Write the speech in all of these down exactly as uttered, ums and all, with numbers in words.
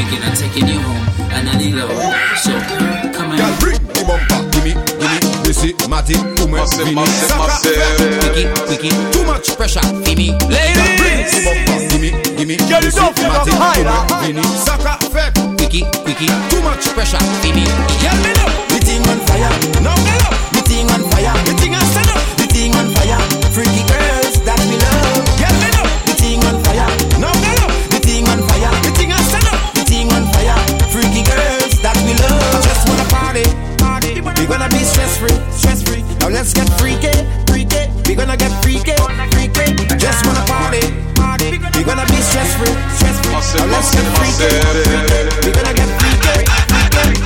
thinking of taking you home, and I need low. So come on. Girl, bring the bumper, gimme, gimme. This is Matty, Ume, Vini. Quickie, quickie, too much pressure, Vini. Ladies, bring the bumper, gimme, gimme. This is Matty, Ume, Vini. Saka, fek, quickie, quickie, too much pressure, Vini. Girl, me know, the thing on fire. No, me know, the thing on fire. The thing on stand up, the thing on fire. Freaky girls that we love. Girl, me know, the thing on fire. No, me know, the thing on fire. The thing on stand up, the thing on fire. Freaky girls that we love. Just wanna party, party. We gonna be stress free, stress free. Now let's get freaky, freaky. We gonna get freaky, freaky. Just wanna party, party. We gonna be stress free, stress free. Now let's get freaky, freaky. We gonna get freaky, freaky.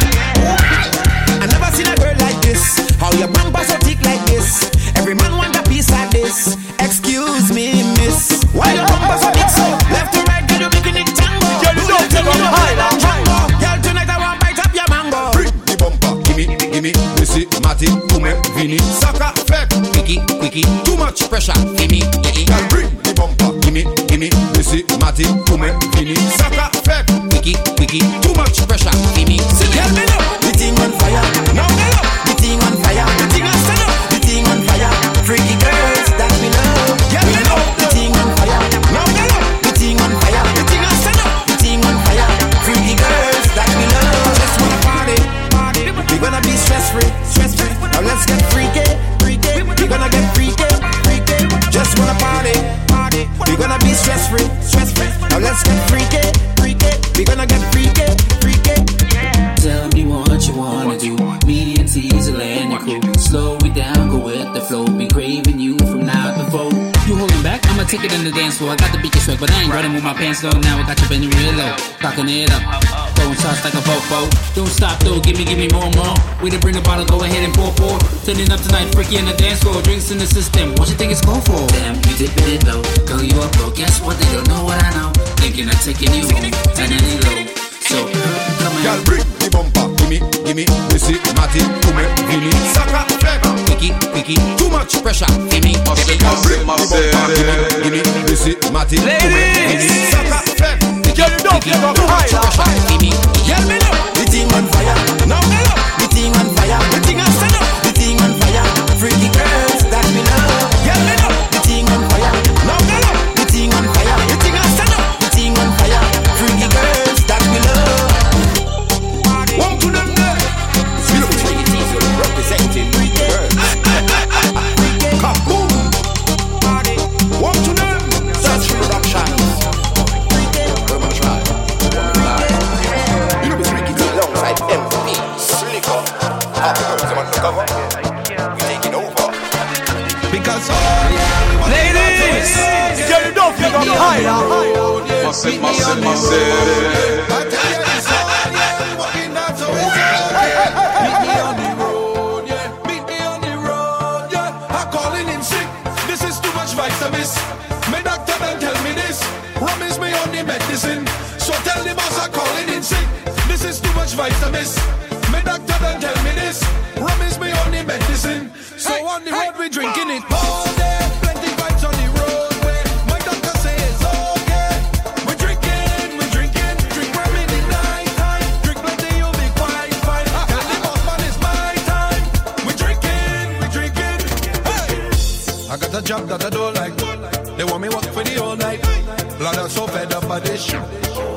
I never seen a girl like this. How your bumper so thick like this? Every man want a piece like this. Excuse me, miss. Why your bumper so big so? Left to right, girl, you making it tango. Girl, you don't take on high like tango. Girl, tonight I want bite up your mango. Bring the bumper, gimme, gimme. This is Matty, Ume, Vini. Saka, fek, quickie, quickie. Too much pressure, gimme. Girl, bring the bumper, gimme, gimme. This is Matty, Ume, Vini. Saka, fek, quickie, quickie. Too much pressure, gimme. Girl, me know the thing on fire. No, me know the thing on fire. The thing on stand up, the thing on fire. Freaky girls that we love. Girl, me know the thing on fire. No, me know the thing on fire. The thing on stand up, the thing on fire. Freaky girls that we love. Just wanna party, party. We gonna be stress free, stress free. Now let's get freaky, freaky. We gonna get freaky, freaky. Just wanna party, party. We gonna be stress free, stress free. Now let's get freaky, freaky. We gonna get freaky, freaky. Tell me what you wanna do. Me and Teasel and your crew. Slow it down, go with the flow. Be craving you from now to fold. You holding back? I'ma take it in the dance floor. I got the beat swag, but I ain't running with my pants low. Now I got you bending real low, cocking it up, throwing shots like a fofo. Don't stop though, give me, give me more, more. We to bring the bottle, go ahead and pour, pour. Turning up tonight, freaky in the dance floor. Drinks in the system. What you think it's called for? Damn, you dipping it low. Girl, you up, bro. Guess what? They don't know what I know. Thinking of taking you home, and any low. So come on. Girl, bring the bumper, gimme, gimme. This is Matty, Ume, Vini. Saka, fek, quickie, quickie. Too much pressure, gimme. Girl, bring the bumper, gimme, gimme. This is Matty, Ume, Vini. Saka, fek, quickie, quickie. Too much pressure, gimme. Girl, me know the thing on fire. Now me know the thing on fire. The thing on stand up, the thing on fire. Freaky girls that we love. Girl, me know the thing on fire. Now me know the thing on fire. The thing on stand up, the thing on fire. Freaky girls that we love. Walk to them there. You know Freaky Teasel representing freaky girls. Kaboom. Walk to them. Search Productions. Urban Tribe. You know Freaky Teasel alongside M V P. Slicker. Half the girls them on the cover. We taking over. Because oh yeah, ladies, get it off, you got higher. Massive, massive, massive. My doctor done tell me this. Rum is my only medicine. So tell the boss I'm calling in sick. This is too much vitamins. My doctor done tell me this. Rum is my only medicine. So hey, on the hey, road we drinking it all day. Plenty vibes on the roadway. My doctor say it's okay. We drinking, we drinking. Drink rum in the night time. Drink plenty, you'll be quite fine. Tell the boss man it's my time. We drinking, we drinking. Hey. I got a job that I don't like. They want me work for the whole night. Lord, I'm so fed up by this shit.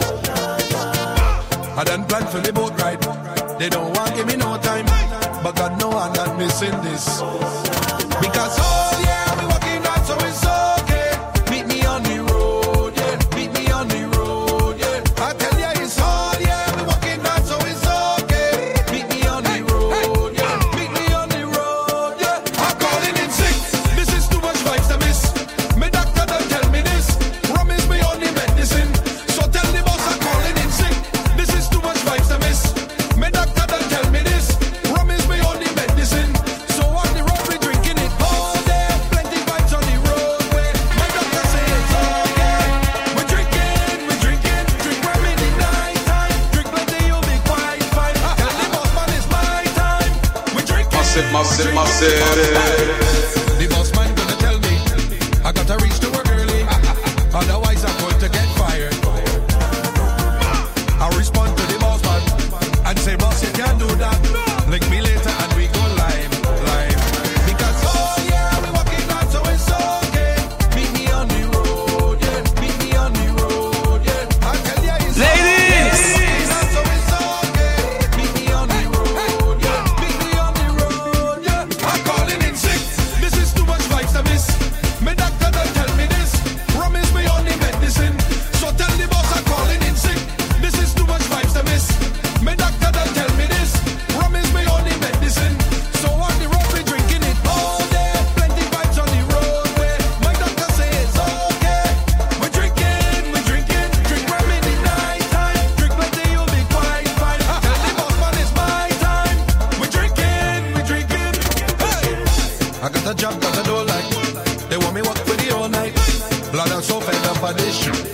I done planned for the boat ride. They don't want to give me no time. But God know I'm not missing this. Because oh yeah, we working hard so it's okay. Meet me on the road, yeah. Meet me on the road, yeah. I tell ya it's hard, yeah. We working hard so it's okay. Meet me on the road, yeah. Meet me on the road, yeah. I'm calling in sick. This is too much vibes to miss. My doctor done tell me this. Rum is my only medicine. So tell the boss I'm calling in sick. This is too much vibes to miss. My doctor done tell me this. Rum is my only medicine. So on the road we drinking it all day. Plenty vibes on the roadway. My doctor say it's okay. We drinking, we drinking. Drink rum in the night time. Drink plenty, you'll be quite fine. Tell the boss man it's my time. We drinking, massive, massive, massive. The boss man gonna tell me I gotta reach to work early. Otherwise I'm going to get fired. I respond can't do that. Link me later and we go live, live. Because oh yeah, we working hard, so it's okay. Meet me on the road, yeah. Meet me on the road, yeah. I tell ya it's ladies. Okay. So it's okay. Meet me on the road, yeah. Meet me on the road, yeah. I'm calling in sick. This is too much vibes to miss. My doctor don't tell me this. Promise me only medicine. So tell the boss I'm calling in sick. This is too much vibes to miss. My doctor don't tell me this. Promise me only medicine. So on the road we drinking it all day. Plenty vibes on the roadway. My doctor say it's okay. We're drinking, we're drinking. Drink rum in the night time. Drink plenty, you'll be quite fine. Tell the boss man it's my time. We're drinking, we're drinking. Hey! I got a job, got a door like. They want me work for the all night. Blood, I'm so fed up of this shit.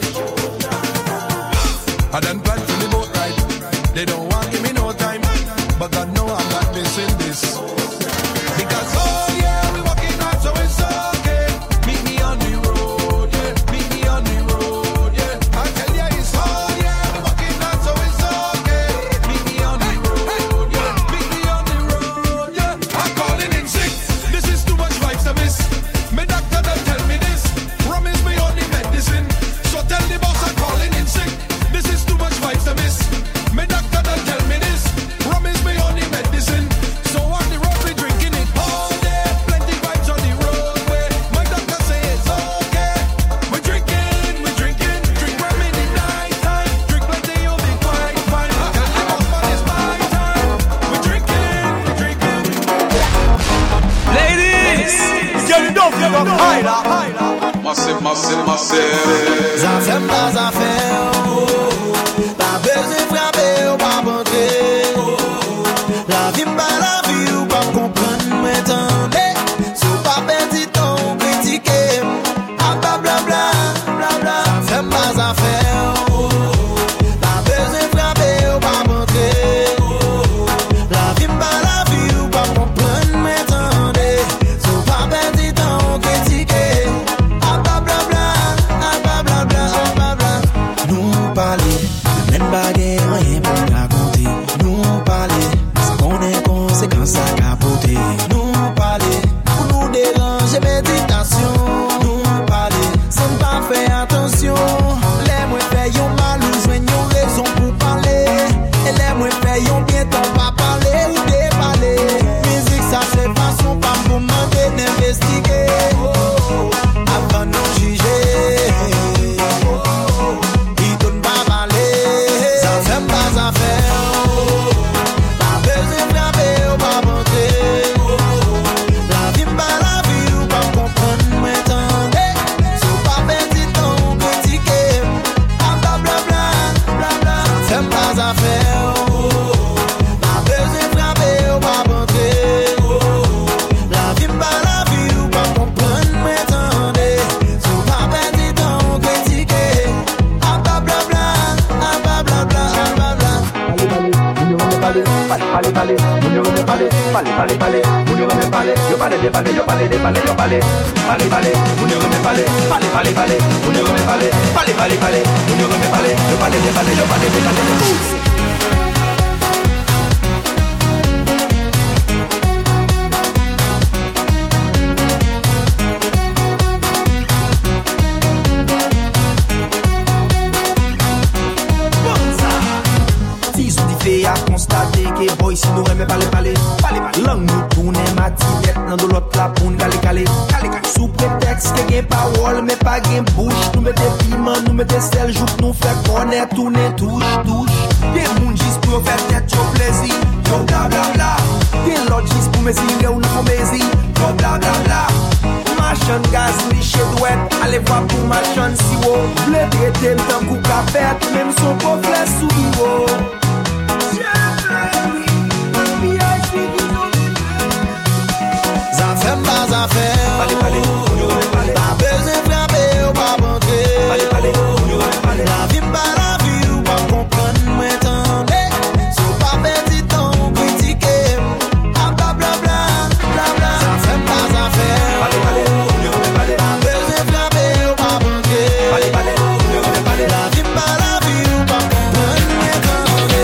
I done planned for the boat ride. They don't want give me no time, but God know I'm not missing this. Because oh yeah, we working hard, so it's okay. Meet me on the road, yeah. Meet me on the road, yeah. I tell ya it's oh yeah, we working hard, so it's okay. Meet me on the road, yeah. Meet me on the road, yeah. I'm calling in sick. This is too much vibes to miss. My doctor don't tell me this. Promise me only medicine. So tell the boss I'm calling in sick. This is too much vibes to miss. My doctor don't tell me this. Promise me only medicine. So on the road we drinking it all day. Plenty vibes on the roadway. My doctor say it's okay. We're drinking, we're drinking. Drink rum in the night time. Drink plenty, you'll be quite fine. Tell the boss man it's my time. We're drinking, we're drinking. Ladies, Girl, you don't give up high now. Massive, massive, massive. Ça fait pas ça fait. Pas besoin de frapper ou pas rentrer. La vie pas la vie ou pas comprendre m'entendez. Sous pas perdre temps critiquer. Ah bla bla bla bla bla. Ça fait pas ça fait. Pas besoin de frapper ou pas rentrer. La vie pas la vie ou pas comprendre m'entendez. Sous pas perdre temps critiquer. Ah bla bla bla ah bla bla bla ah bla bla. Nous parler de même baguette rien pour raconter. Nous parler ça connaît conséquences à capoter. Nous parler pour nous déranger méditation. Nous parler sans pas faire attention. Les moins fait yon mal ou joignent yon raison pour parler. Et les moins fait yon bien temps pas parler ou déballer. Musique ça c'est façon pas pour demander d'investiguer. Avant nous juger. Il donne pas parler. Ça fait pas ça fait. Pas besoin de frapper ou pas monter. La vie pas la vie ou pas comprendre m'entendez. Sous pas perdre temps critiquer. Ah bla bla bla bla bla. Ça fait pas ça fait. Pas besoin de frapper ou pas monter. La vie pas la vie ou pas comprendre m'entendez. Sous pas perdre temps critiquer. Ah bla bla bla ah bla bla bla ah bla bla. Pale, pale, pale, munyo me pale, pale, pale, pale, munyo me pale, yo pale, de pale, yo pale, de pale, yo pale, pale, pale, munyo me pale, pale, pale, pale, munyo me pale, pale, pale, pale, munyo me pale, yo pale, de pale, yo pale, de pale. A constater que boy si nous remet parler parler parler langue nous tourne matinette dans de l'autre la pour nous caler caler sous prétexte que gain parole mais pas gain bouche nous mettre piment nous mettre sel joue nous faire connaître tourner touche touche des monde juste pour faire tête au plaisir yo bla bla bla des l'autre juste pour me dire ou nous plaisir yo bla bla bla machin gaz liché douette allez voir pour machin si wo le traiter le temps coup café même son pauvre sous wo. Ça fait pas ça fait. Pale pale, munyo me pale. Pas besoin de frapper ou pas rentrer. Pale pale, munyo me pale. La vie pas la vie ou pas comprendre m'entendez. Sous pas perdre temps critiquer. Ah bla bla bla bla bla. Ça fait pas ça fait. Pale pale, munyo me pale. Pas besoin de frapper ou pas rentrer. Pale pale, munyo me pale. La vie pas la vie ou pas comprendre m'entendez.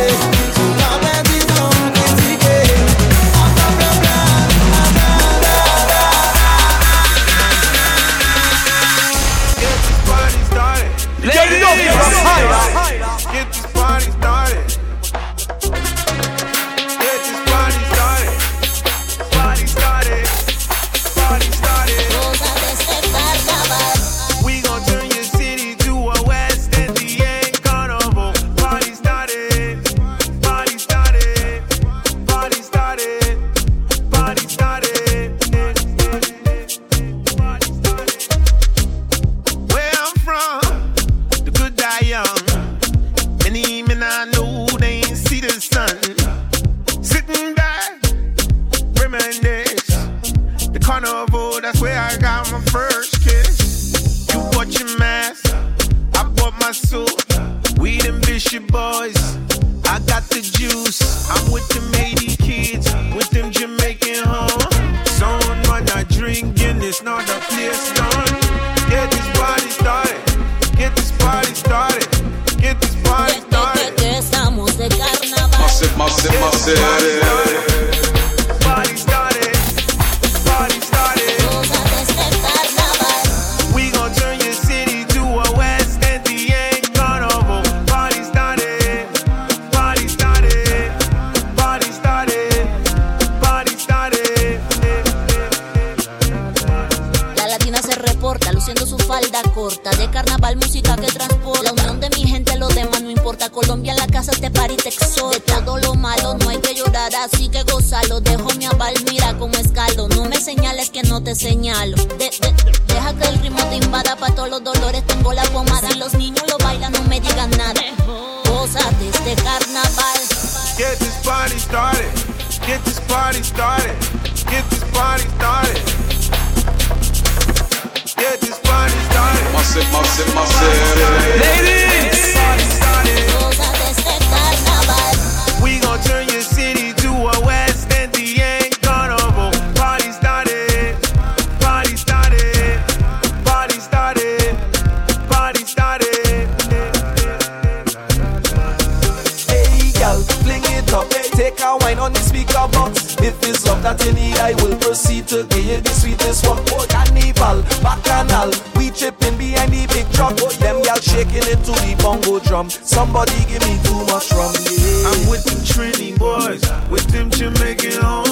Carnival, that's where I got my first kiss. You bought your mask, I bought my suit. We them Bishop boys, I got the juice. I'm with them Haiti kids, with them Jamaican hoes. Someone not drinking, it's not a place done. Get this party started, get this party started, get this party started. Que estamos de carnaval. Massive, massive, massive. Party started, party started. Cosas de este carnaval. We gon' turn your city to a West Indian carnival. Party started, party started, party started, party started. La latina se reporta, luciendo su falda corta. De carnaval, música que transporta. La unión de mi gente, los demás no importa. Colombia en la casa, este party te exhorta. De todo lo malo no hay que llorar, así que gózalo. Dejo mi aval, mira cómo escalo. No me señales que no te señalo. De, de, deja que el ritmo te invada. Pa' todos los dolores tengo la pomada. Si los niños lo bailan, no me digan nada. Gózate este carnaval. Get this party started, get this party started, get this party started. Get this party started. Massive, massive, massive. Ladies, party started. Gózate este carnaval. We gon' turn your city to a West Indian carnival. Party started, party started, party started, party started. Hey, girl, fling it up. Take a wine on the speaker box. If it's love that you need, I will proceed to give you the sweetest one. Oh, carnival, bacchanal, we tripping behind the big truck. Them y'all shaking it to the bongo drum. Somebody give me too much rum, yeah. I'm with the Trini boys, with them Jamaican hoes.